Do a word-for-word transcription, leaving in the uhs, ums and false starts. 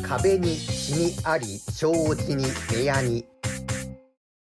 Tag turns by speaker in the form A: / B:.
A: 壁にシミあり、障子に部屋に